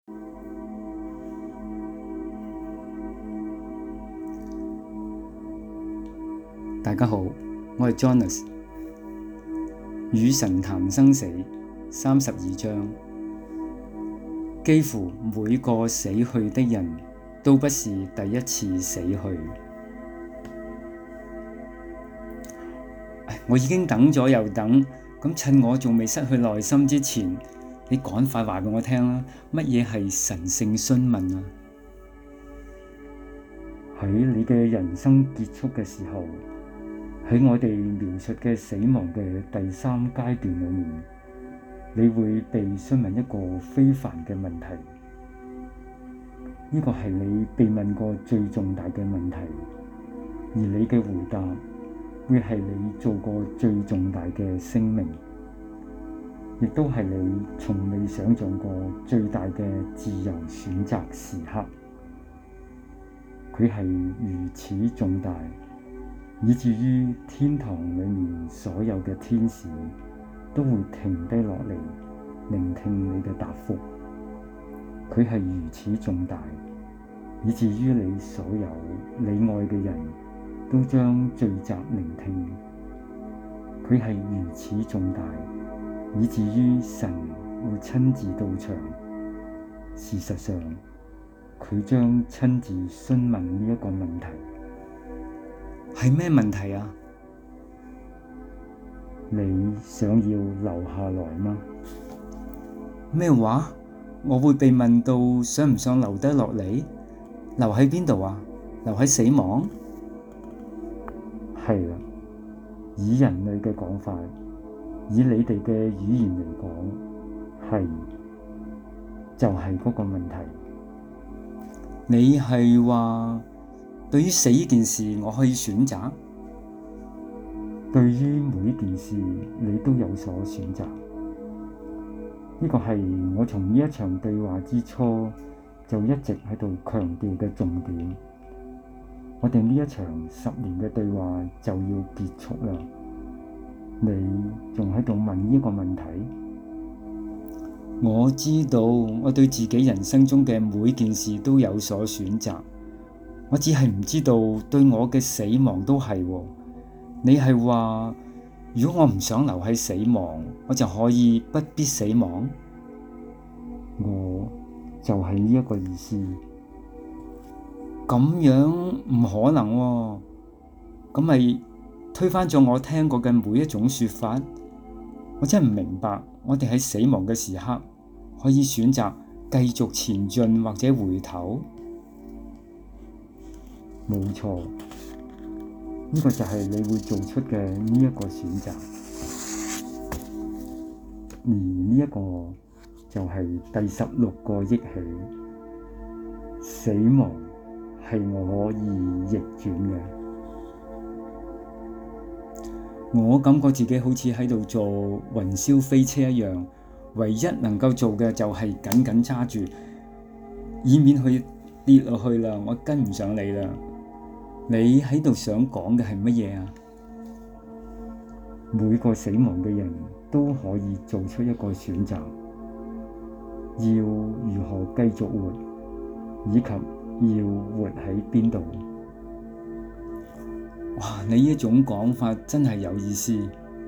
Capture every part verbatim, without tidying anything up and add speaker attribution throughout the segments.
Speaker 1: 大家好，我係 Jonas。與神談生死三十二章，幾乎每個死去的人都不是第一次死去。我已經等咗又等，咁趁我仲未失去耐心之前，你趕快話俾我聽啦，乜嘢係神聖詢問啊？
Speaker 2: 喺你嘅人生結束嘅時候，喺我哋描述嘅死亡嘅第三階段裏面，你會被詢問一個非凡嘅問題。呢個係你被問過最重大嘅問題，而你嘅回答會係你做過最重大嘅聲明，亦都係你從未想象過最大嘅自由選擇時刻。佢係如此重大，以至於天堂裏面所有嘅天使都會停低落嚟聆聽你嘅答覆。佢係如此重大，以至於你所有你愛嘅人都將聚集聆聽。佢係如此重大，以至於神會親自到場。事實上，佢將親自詢問呢一個問題。
Speaker 1: 係咩問題啊？
Speaker 2: 你想要留下來嗎？
Speaker 1: 咩話？我會被問到想唔想留低落嚟？留喺邊度啊？留喺死亡？
Speaker 2: 係啦，以人類嘅講法，以你哋嘅語言嚟講，係就係嗰個問題。
Speaker 1: 你係話對於死呢件事，我可以選擇？
Speaker 2: 對於每一件事，你都有所選擇。呢個係我從呢一場對話之初就一直喺度強調嘅重點。我哋呢一場十年嘅對話就要結束啦。你仲喺度問呢個問題？
Speaker 1: 我知道我對自己人生中嘅每件事都有所選擇，我只係唔知道對我嘅死亡都係喎。你係話如果我唔想留喺死亡，我就可以不必死亡？
Speaker 2: 我就係呢一個意思。
Speaker 1: 咁樣唔可能喎，咁咪推翻咗我聽過嘅每一種說法。我真係唔明白，我哋喺死亡嘅時刻可以選擇繼續前進或者回頭。
Speaker 2: 冇錯，呢個就係你會做出嘅呢一個選擇。而呢一個就係第十六個憶起，死亡係我可以逆轉嘅。
Speaker 1: 我感覺自己好似喺度做雲霄飛車一樣，唯一能夠做嘅就係緊緊揸住，以免去跌落去啦。我跟唔上你啦。你喺度想講嘅係乜嘢啊？
Speaker 2: 每個死亡嘅人都可以做出一個選擇，要如何繼續活，以及要活喺邊度。
Speaker 1: 哇！你呢種講法真係有意思。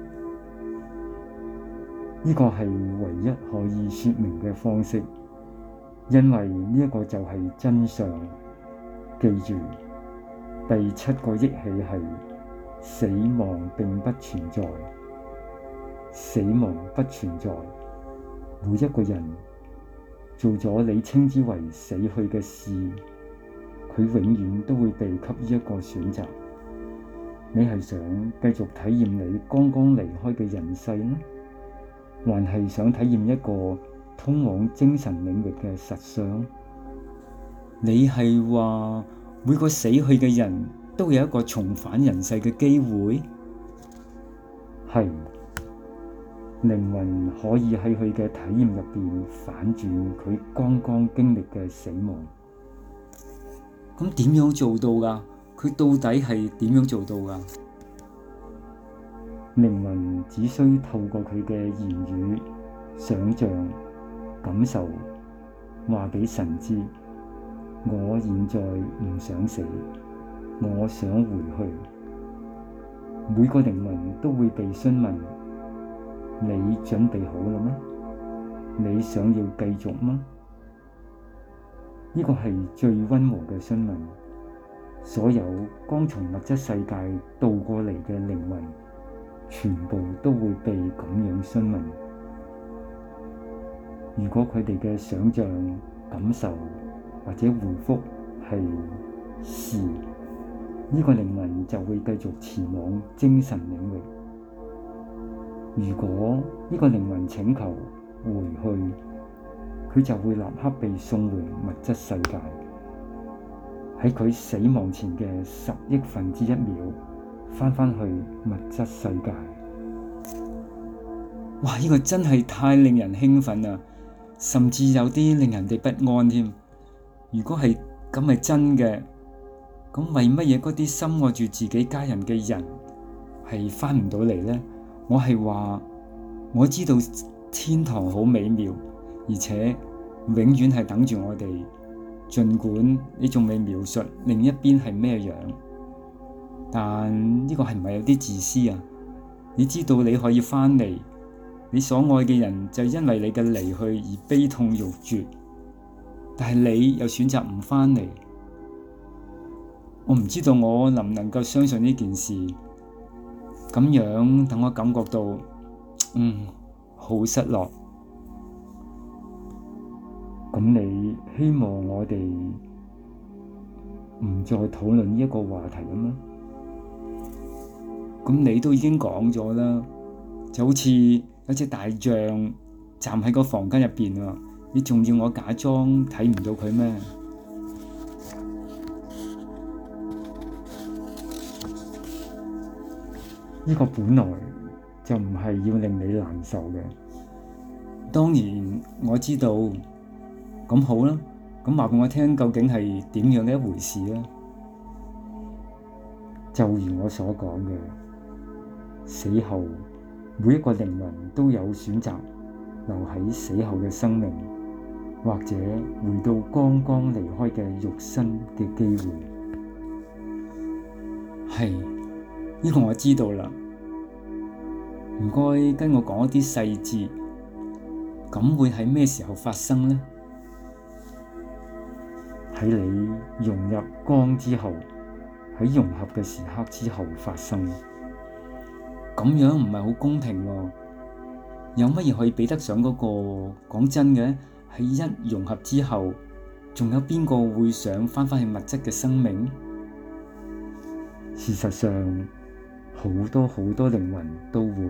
Speaker 2: 呢個係唯一可以說明嘅方式，因為呢一個就係真相。記住，第七個憶起係死亡並不存在，死亡不存在。每一個人做咗你稱之為死去嘅事，佢永遠都會被給予一個選擇。你係想繼續體驗你剛剛離開嘅人世呢？還係想體驗一個通往精神領域嘅實相？
Speaker 1: 你係話每個死去嘅人都有一個重返人世嘅機會？
Speaker 2: 係，靈魂可以喺佢嘅體驗入邊反轉佢剛剛經歷嘅死亡。
Speaker 1: 咁點樣做到㗎？佢到底係點樣做到㗎？
Speaker 2: 靈魂只需透過佢嘅言語、想像、感受， 話俾神知，我現在唔想死，我想回去。每個靈魂都會被詢問：你準備好了嗎？你想要繼續嗎？呢個係最溫和嘅詢問。所有剛從物質世界渡過嚟嘅靈魂，全部都會被咁樣詢問。如果佢哋嘅想像、感受或者回覆係是，呢個靈魂就會繼續前往精神領域。如果呢個靈魂請求回去，佢就會立刻被送回物質世界。喺佢死亡前嘅十億分之一秒，返返去物質世界。
Speaker 1: 哇！呢個真係太令人興奮啦，甚至有啲令人哋不安添。如果係咁係真嘅，咁為乜嘢嗰啲深愛住自己家人嘅人係返唔到嚟呢？我係話我知道天堂好美妙，而且永遠係等住我哋。儘管你仲未描述另一邊係咩樣，但呢個係唔係有啲自私啊？你知道你可以返嚟，你所愛嘅人就因為你嘅離去而悲痛欲絕，但係你又選擇唔返嚟。我唔知道我能唔能夠相信呢件事，咁樣等我感覺到，嗯，好失落。
Speaker 2: 咁你希望我哋唔再討論呢一個話題啊嗎？
Speaker 1: 咁你都已經講咗啦，就好似有隻大象站喺個房間入邊啊，你仲要我假裝睇唔到佢咩？
Speaker 2: 呢個本來就唔係要令你難受嘅。
Speaker 1: 當然我知道。咁好啦，咁話俾我聽究竟係點樣嘅一回事啊？
Speaker 2: 就如我所講嘅，死後每一個靈魂都有選擇留喺死後嘅生命，或者回到剛剛離開嘅肉身嘅機會。
Speaker 1: 係，呢個我知道啦。唔該跟我講一啲細節，咁會喺咩時候發生呢？
Speaker 2: 喺你融入光之後，喺融合嘅時刻之後發生。
Speaker 1: 咁樣唔係好公平喎。有乜嘢可以比得上嗰個？講真嘅，喺一融合之後，仲有邊個會想返返去物質嘅生命？
Speaker 2: 事實上，好多好多靈魂都會。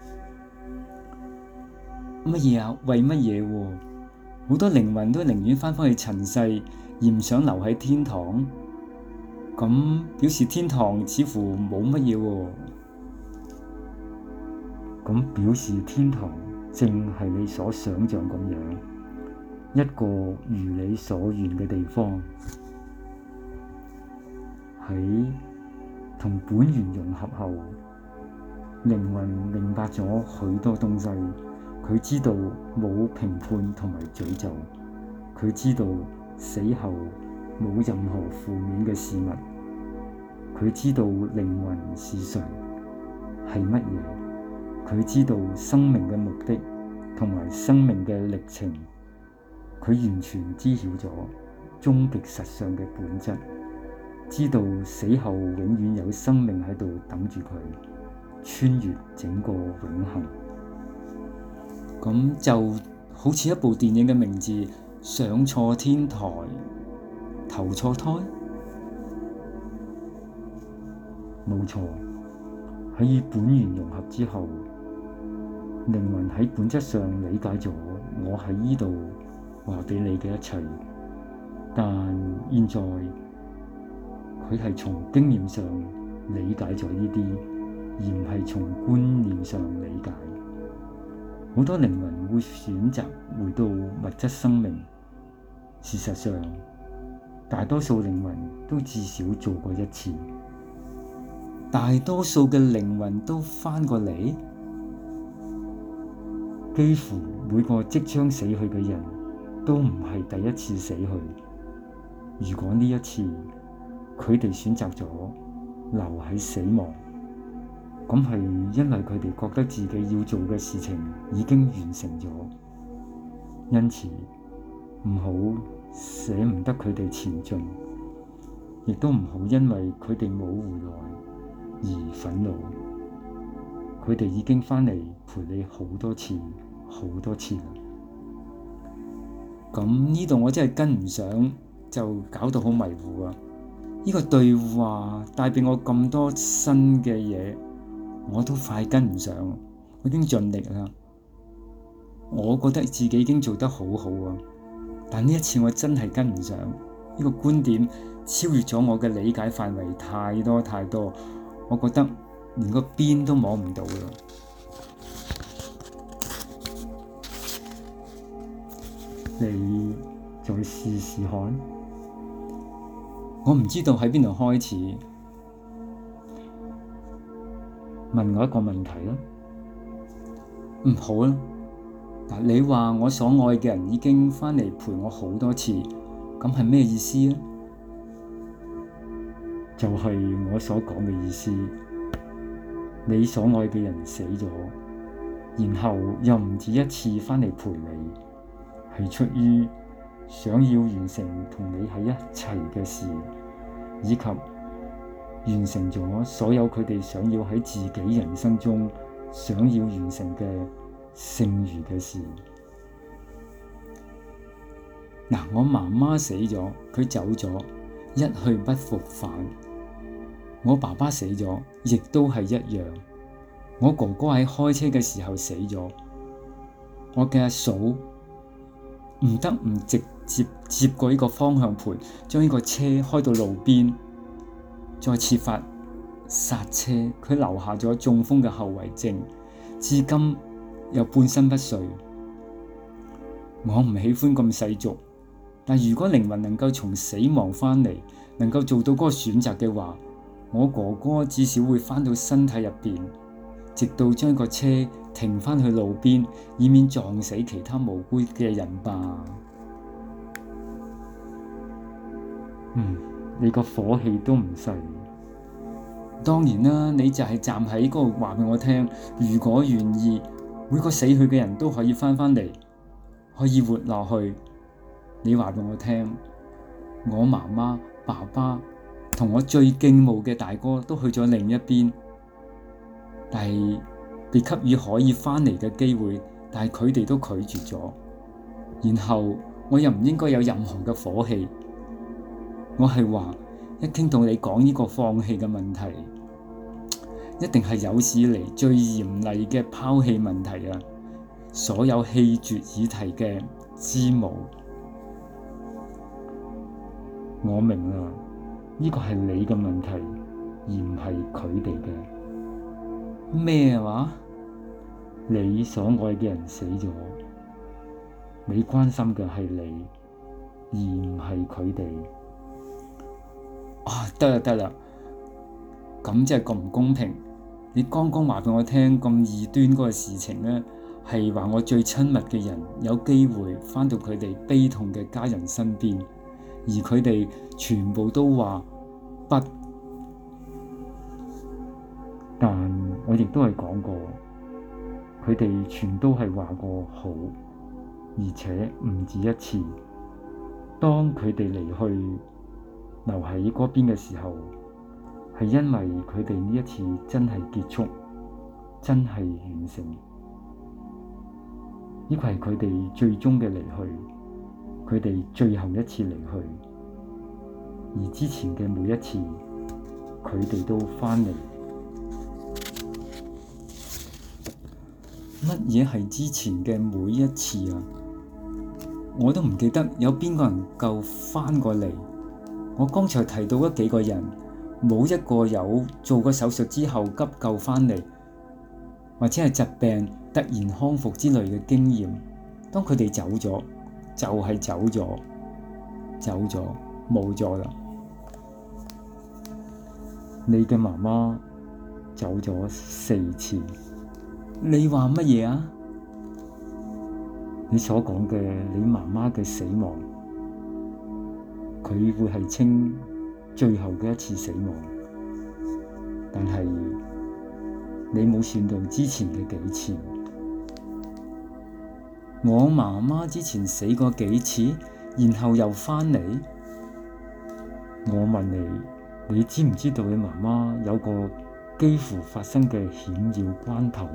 Speaker 1: 乜嘢啊？為乜嘢喎？好多靈魂都寧願返返去塵世，而唔想留喺天堂。咁表示天堂似乎冇乜嘢喎。
Speaker 2: 咁表示天堂正係你所想像咁樣，一個如你所願嘅地方。喺同本源融合後，靈魂明白咗許多東西。佢知道冇評判同埋詛咒，佢知道死後冇任何負面嘅事物，佢知道靈魂是誰，係乜嘢，佢知道生命嘅目的同埋生命嘅歷程，佢完全知曉咗終極實相嘅本質，知道死後永遠有生命喺度等住佢，穿越整個永恆。
Speaker 1: 咁就好似一部電影嘅名字，上錯天台，投錯胎。
Speaker 2: 冇錯，喺與本源融合之後，靈魂喺本質上理解咗我喺呢度話俾你嘅一切，但現在佢係從經驗上理解咗呢啲，而唔係從觀念上理解。好多靈魂會選擇回到物質生命。事實上，大多數靈魂都至少做過一次。
Speaker 1: 大多數嘅靈魂都返過嚟？
Speaker 2: 幾乎每個即將死去嘅人都唔係第一次死去。如果呢一次佢哋選擇咗留喺死亡，咁係因為佢哋覺得自己要做嘅事情已經完成咗，因此唔好捨唔得佢哋前進，亦都唔好因為佢哋冇回來而憤怒。佢哋已經返嚟陪你好多次，好多次啦。
Speaker 1: 咁呢度我真係跟唔上，就搞到好迷糊啊！呢個對話帶俾我咁多新嘅嘢，我都快跟唔上。我已經盡力啦，我覺得自己已經做得好好啊，但呢一次我真係跟唔上。呢個觀點超越咗我嘅理解範圍太多太多，我覺得連個邊都摸唔到啦。
Speaker 2: 你再試試看。
Speaker 1: 我唔知道喺邊度開始。
Speaker 2: 問我一個問題啦。
Speaker 1: 嗯，好啦。嗱，你話我所愛嘅人已經返嚟陪我好多次，咁係咩意思咧？
Speaker 2: 就係我所講嘅意思。你所愛嘅人死咗，然後又唔止一次返嚟陪你，係出於想要完成同你喺一齊嘅事，以及完成咗所有佢哋想要喺自己人生中想要完成嘅剩餘嘅事。
Speaker 1: 嗱，我媽媽死咗，佢走咗，一去不復返。我爸爸死咗，亦都係一樣。我哥哥喺開車嘅時候死咗。我嘅阿嫂唔得唔直接接過呢個方向盤，將呢個車開到路邊，再設法剎車。佢留下咗中風嘅後遺症，至今又半身不遂。我唔喜歡咁世俗，但如果靈魂能夠從死亡返嚟，能夠做到嗰個選擇嘅話，我哥哥至少會返到身體入邊，直到將個車停返去路邊，以免撞死其他無辜嘅人吧。
Speaker 2: 嗯，你個火氣都唔細。
Speaker 1: 當然啦，你就係站喺嗰度話俾我聽，如果願意，每個死去嘅人都可以返返嚟，可以活落去。你話俾我聽，我媽媽、爸爸同我最敬慕嘅大哥都去咗另一邊，但係被給予可以返嚟嘅機會，但係佢哋都拒絕咗。然後我又唔應該有任何嘅火氣。我係話，一傾到你講呢個放棄嘅問題，一定係有史以嚟最嚴厲嘅拋棄問題啊！所有棄絕議題嘅之母。
Speaker 2: 我明啦，呢個係你嘅問題，而唔係佢哋嘅。
Speaker 1: 咩話？
Speaker 2: 你所愛嘅人死咗，你關心嘅係你，而唔係佢哋。
Speaker 1: 啊，得啦得啦，咁真係咁唔公平！你剛剛話俾我聽咁異端嗰個事情呢，係話我最親密嘅人有機會返到佢哋悲痛嘅家人身邊，而佢哋全部都話不。
Speaker 2: 但我亦都係講過，佢哋全都係話過好，而且唔止一次。當佢哋離去留喺嗰邊嘅時候，係因為佢哋呢一次真係結束，真係完成。呢個係佢哋最終嘅離去，佢哋最後一次離去。而之前嘅每一次，佢哋都返嚟。
Speaker 1: 乜嘢係之前嘅每一次啊？我都唔記得有邊個人夠返過嚟。我剛才提到嗰幾個人，冇一個有做過手術之後急救返嚟，或者係疾病突然康復之類嘅經驗。當佢哋走咗，就係走咗，走咗，冇咗啦。
Speaker 2: 你嘅媽媽走咗四次。
Speaker 1: 你話乜嘢啊？
Speaker 2: 你所講嘅你媽媽嘅死亡，佢會係稱最後嘅一次死亡，但係你冇算到之前嘅幾次。
Speaker 1: 我媽媽之前死過幾次，然後又返嚟。
Speaker 2: 我問你，你知唔知道你媽媽有個幾乎發生嘅險要關頭？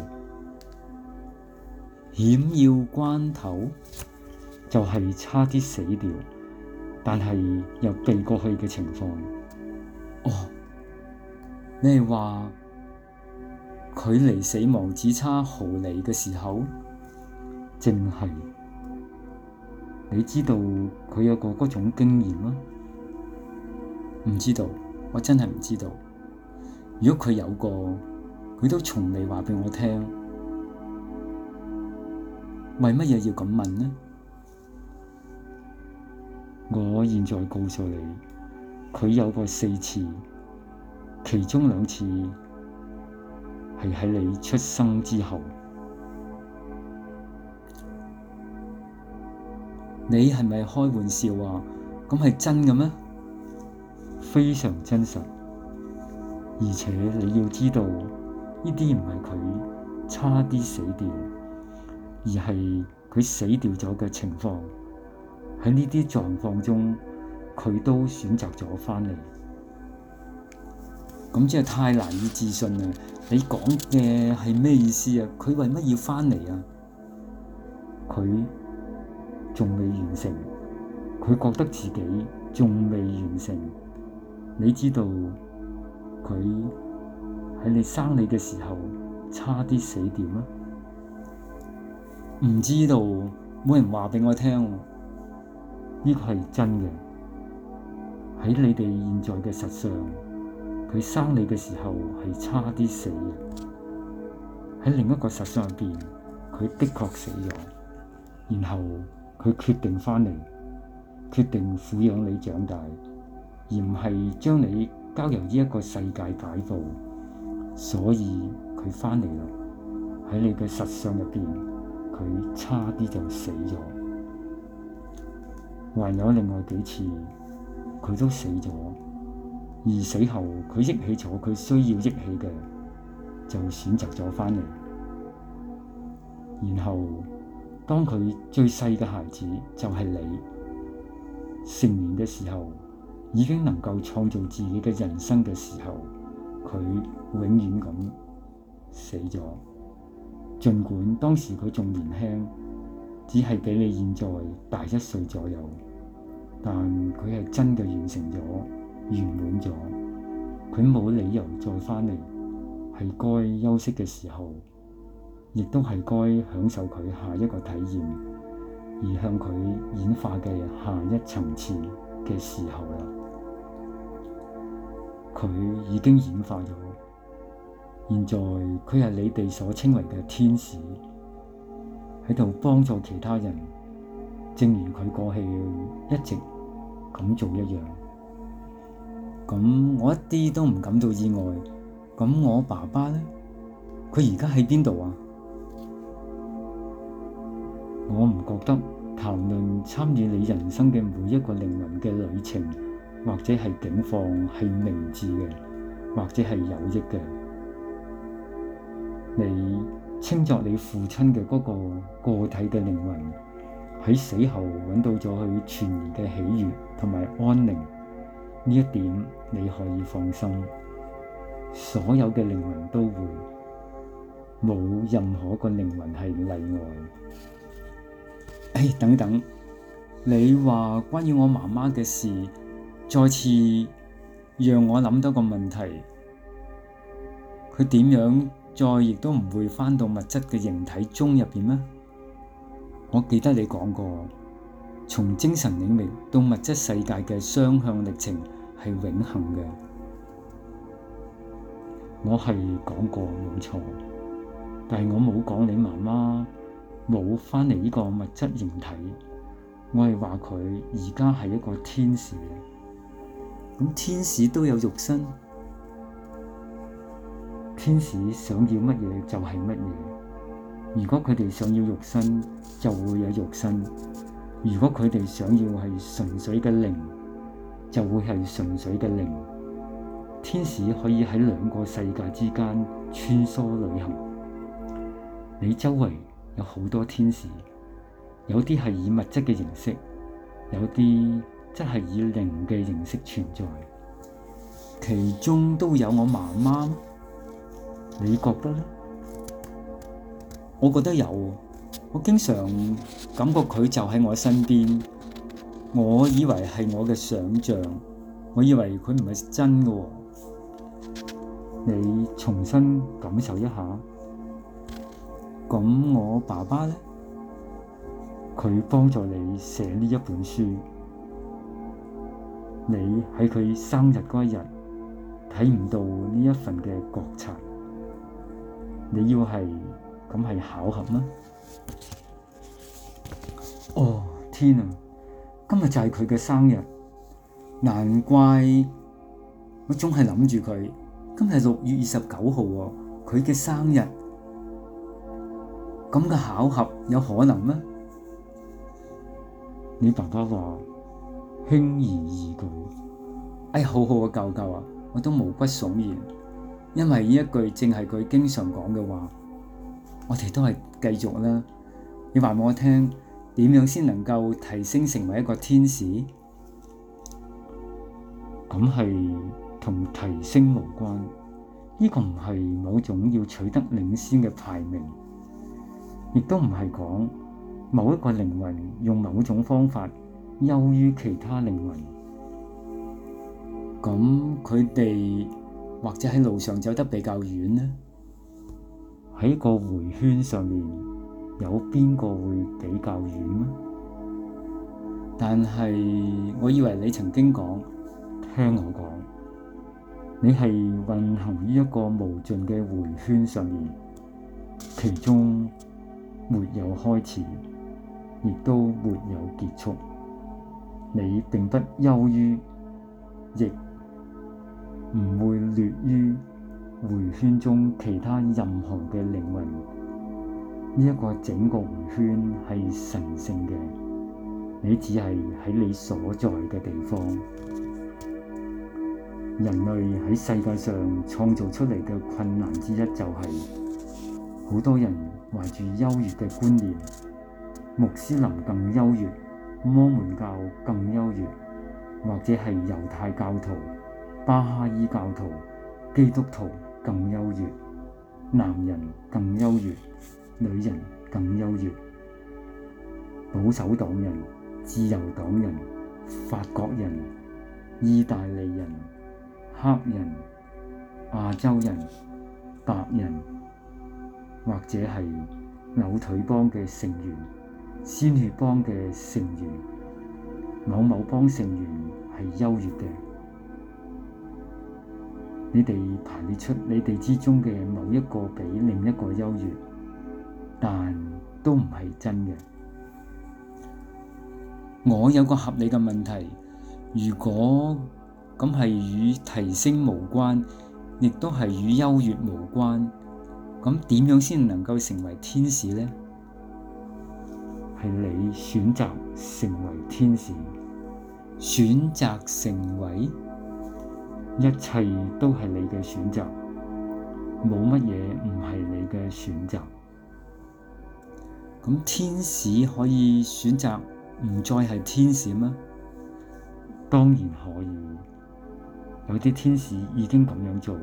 Speaker 1: 險要關頭
Speaker 2: 就係差啲死掉，但係又避過去嘅情況。
Speaker 1: 哦，你係話距離死亡只差毫厘嘅時候？
Speaker 2: 正係。你知道佢有過嗰種經驗嗎？
Speaker 1: 唔知道，我真係唔知道。如果佢有過，佢都從未話畀我聽。為乜嘢要咁問呢？
Speaker 2: 我現在告訴你，佢有過四次，其中兩次係喺你出生之後。
Speaker 1: 你係咪開玩笑啊？咁係真嘅咩？
Speaker 2: 非常真實，而且你要知道，呢啲唔係佢差啲死掉，而係佢死掉咗嘅情況。喺呢啲狀況中，佢都選擇咗返嚟。
Speaker 1: 咁真係太難以置信啦！你講嘅係咩意思啊？佢為乜要返嚟啊？
Speaker 2: 佢仲未完成，佢覺得自己仲未完成。你知道佢喺你生你嘅時候差啲死掉嗎？
Speaker 1: 唔知道，冇人話畀我聽。
Speaker 2: 呢個係真嘅。喺你哋現在嘅實相，佢生你嘅時候係差啲死嘅。喺另一個實相入邊，佢的確死咗，然後佢決定返嚟，決定撫養你長大，而唔係將你交由呢一個世界擺佈，所以佢返嚟啦。喺你嘅實相入邊，佢差啲就死咗。還有另外幾次，佢都死咗，而死後佢憶起咗佢需要憶起嘅，就選擇咗返嚟。然後當佢最細嘅孩子就係你，成年嘅時候，已經能夠創造自己嘅人生嘅時候，佢永遠咁死咗。儘管當時佢仲年輕，只係比你現在大一歲左右，但佢係真嘅完成咗，圓滿咗。佢冇理由再返嚟，係該休息嘅時候，亦都係該享受佢下一個體驗，而向佢演化嘅下一層次嘅時候啦。佢已經演化咗，現在佢係你哋所稱為嘅天使，喺度幫助其他人，正如佢過去一直咁做一樣。
Speaker 1: 咁我一啲都唔感到意外。咁我爸爸呢？佢而家喺邊度啊？
Speaker 2: 我唔覺得談論參與你人生嘅每一個靈魂嘅旅程，或者係境況係明智嘅，或者係有益嘅。你稱作你父親嘅嗰個個體嘅靈魂，喺死後揾到咗佢全然嘅喜悅同埋安寧，呢一點你可以放心。所有嘅靈魂都會，冇任何個靈魂係例外。
Speaker 1: 哎，等等，你話關於我媽媽嘅事，再次讓我諗到個問題，佢點樣再亦都唔會返到物質嘅形體中入邊咩？我記得你講過，從精神領域到物質世界嘅雙向歷程係永恆嘅。
Speaker 2: 我係講過冇錯，但係我冇講你媽媽冇返嚟呢個物質形體，我係話佢而家係一個天使。
Speaker 1: 咁天使都有肉身？
Speaker 2: 天使想要乜嘢就係乜嘢， 如果佢哋想要肉身，就會有肉身；如果佢哋想要係純粹嘅靈，就會係純粹嘅靈。天使可以喺兩個世界之間穿梭旅行。你周圍有好多天使，有啲係以物質嘅形式，有啲則係以靈嘅形式存在。
Speaker 1: 其中都有我媽媽，
Speaker 2: 你覺得呢？
Speaker 1: 我覺得有，我經常感覺佢就喺我身邊。我以為係我嘅想像，我以為佢唔係真嘅喎。
Speaker 2: 你重新感受一下。
Speaker 1: 咁我爸爸呢？
Speaker 2: 佢幫助你寫呢一本書。你喺佢生日嗰一日睇唔到呢一份嘅覺察，你要係咁係巧合嗎？
Speaker 1: 哦，天啊！今日就係佢嘅生日，難怪我總係諗住佢。今日六月二十九號喎，佢嘅生日，咁嘅巧合有可能咩？
Speaker 2: 你爸爸話輕而易舉。
Speaker 1: 哎，好好嘅舅舅啊，我都毛骨悚然，因為呢一句正係佢經常講嘅話。我哋都係繼續啦。你話俾我聽，點樣先能夠提升成為一個天使？
Speaker 2: 咁係同提升無關，呢個唔係某種要取得領先嘅排名，亦都唔係講某一個靈魂用某種方法優於其他靈魂。
Speaker 1: 咁佢哋或者喺路上走得比較遠呢？
Speaker 2: 喺個迴圈上面，有邊個會比較遠嗎？
Speaker 1: 但係我以為你曾經講，
Speaker 2: 聽我講，你係運行於一個無盡嘅迴圈上面，其中沒有開始，亦都沒有結束。你並不優於，亦唔會劣於迴圈中其他任何嘅靈魂。呢一個整個迴圈係神聖嘅，你只係喺你所在嘅地方。人類喺世界上創造出嚟嘅困難之一就係、是，好多人懷住優越嘅觀念，穆斯林更優越，摩門教更優越，或者係猶太教徒、巴哈伊教徒、基督徒更優越，男人更優越，女人更優越，保守黨人、自由黨人、法國人、意大利人、黑人、亞洲人、白人，或者係扭腿幫嘅成員、鮮血幫嘅成員，某某幫成員係優越嘅。你哋排列出你哋之中嘅某一個比另一個優越，但都唔係真嘅。
Speaker 1: 我有個合理嘅問題，如果咁係與提升無關，亦都係與優越無關，咁點樣先能夠成為天使呢？
Speaker 2: 係你選擇成為天使，
Speaker 1: 選擇成為？
Speaker 2: 一切都係你嘅選擇，冇乜嘢唔係你嘅選擇。
Speaker 1: 咁天使可以選擇唔再係天使嗎？
Speaker 2: 當然可以，有啲天使已經咁樣做。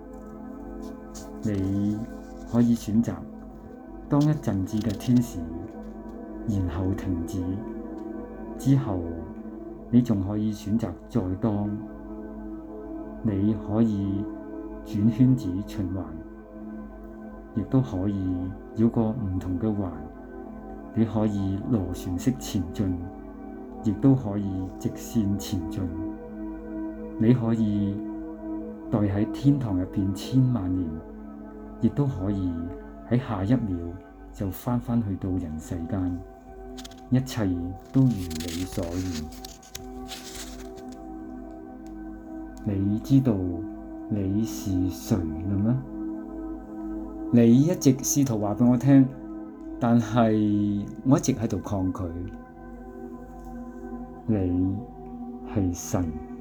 Speaker 2: 你可以選擇當一陣子嘅天使，然後停止，之後你仲可以選擇再當。你可以轉圈子循環，亦都可以繞過唔同嘅環。你可以螺旋式前進，亦都可以直線前進。你可以待喺天堂入邊千萬年，亦都可以喺下一秒就返返去到人世間。一切都如你所願。你知道你是誰了嗎？
Speaker 1: 你一直試圖話畀我聽， 但係我一直喺度抗拒。
Speaker 2: 你係神。